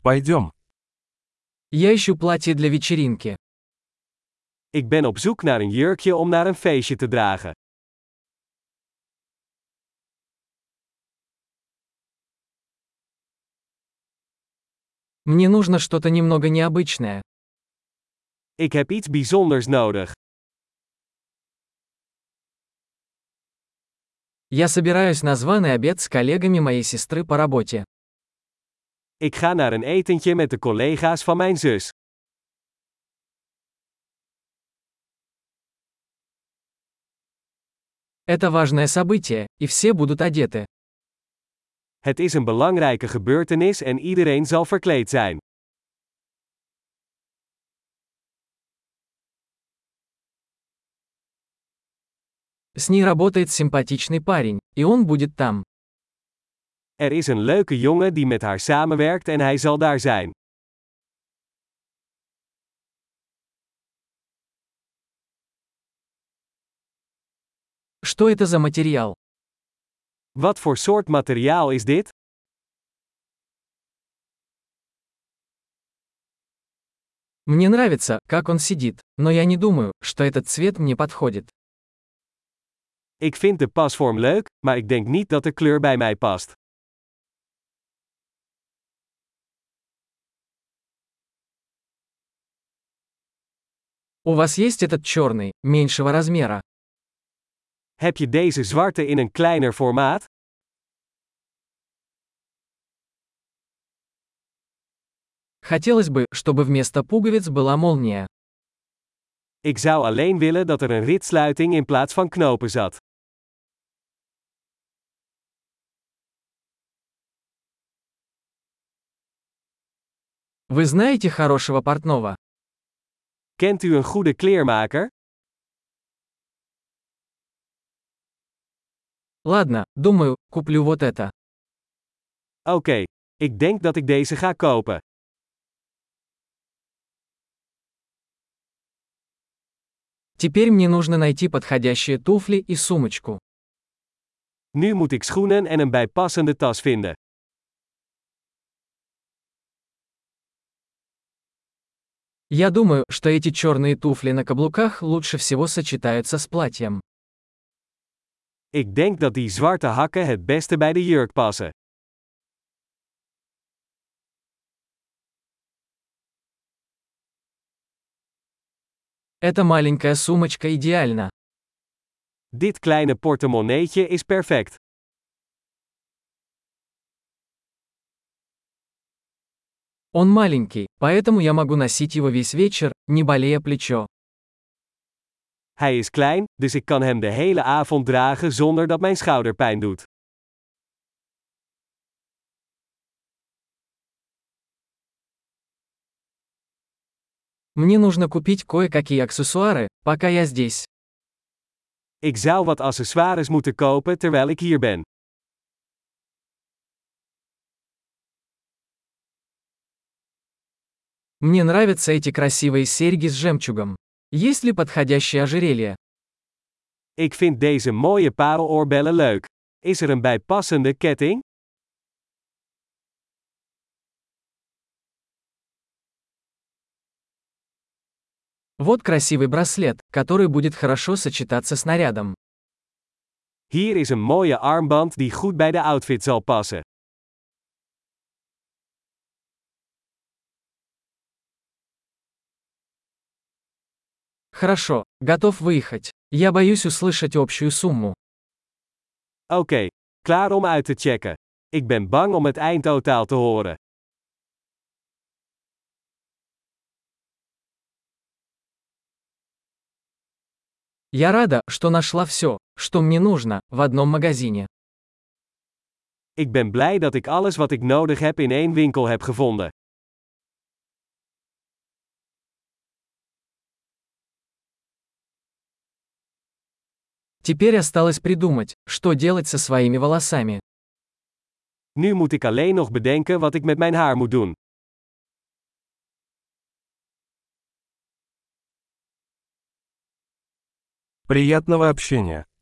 Пойдем. Я ищу платье для вечеринки. Ik ben op zoek naar een jurkje om naar een feestje te dragen. Мне нужно что-то немного необычное. Ik heb iets bijzonders nodig. Я собираюсь на званый обед с коллегами моей сестры по работе. Ik ga naar een etentje met de collega's van mijn zus. Это важное событие, и все будут одеты. Het is een belangrijke gebeurtenis en iedereen zal verkleed zijn. С ней работает симпатичный парень, и он будет там. Er is een leuke jongen die met haar samenwerkt en hij zal daar zijn. Что это за материал? Wat voor soort materiaal is dit? Мне нравится, как он сидит, но я не думаю, что этот цвет мне подходит. Ik vind de pasvorm leuk, maar ik denk niet dat de kleur bij mij past. У вас есть этот черный, меньшего размера? Heb je deze zwarte in een kleiner formaat? Хотелось бы, чтобы вместо пуговиц была молния. Ik zou alleen willen dat er een ritsluiting in plaats van knopen zat. Вы знаете хорошего портного? Kent u een goede kleermaker? Ладно, думаю, куплю вот это. Oké, ik denk dat ik deze ga kopen. Теперь мне нужно найти подходящие туфли и сумочку. Nu moet ik schoenen en een bijpassende tas vinden. Я думаю, что эти черные туфли на каблуках лучше всего сочетаются с платьем. Ik denk dat die zwarte hakken het beste bij de jurk passen. Эта маленькая сумочка идеальна. Dit kleine portemonneetje is perfect. Он маленький, поэтому я могу носить его весь вечер, не болея плечо. Hij is klein, dus ik kan hem de hele avond dragen zonder dat mijn schouder pijn doet. Мне нужно купить кое-какие аксессуары, пока я здесь. Ik zou wat accessoires moeten kopen terwijl ik hier ben. Мне нравятся эти красивые серьги с жемчугом. Есть ли подходящее ожерелье? Ik vind deze mooie pareloorbellen leuk. Is er een bijpassende ketting? Вот красивый браслет, который будет хорошо сочетаться с нарядом. Hier is een mooie armband die goed bij de outfit zal passen. Хорошо, готов выехать. Я боюсь услышать общую сумму. Oké, klaar om uit te checken. Ik ben bang om het eindtotaal te horen. Я рада, что нашла все, что мне нужно, в одном магазине. Ik ben blij dat ik alles wat ik nodig heb in één winkel heb gevonden. Теперь осталось придумать, что делать со своими волосами. Nu moet ik alleen nog bedenken wat ik met mijn haar moet doen. Приятного общения.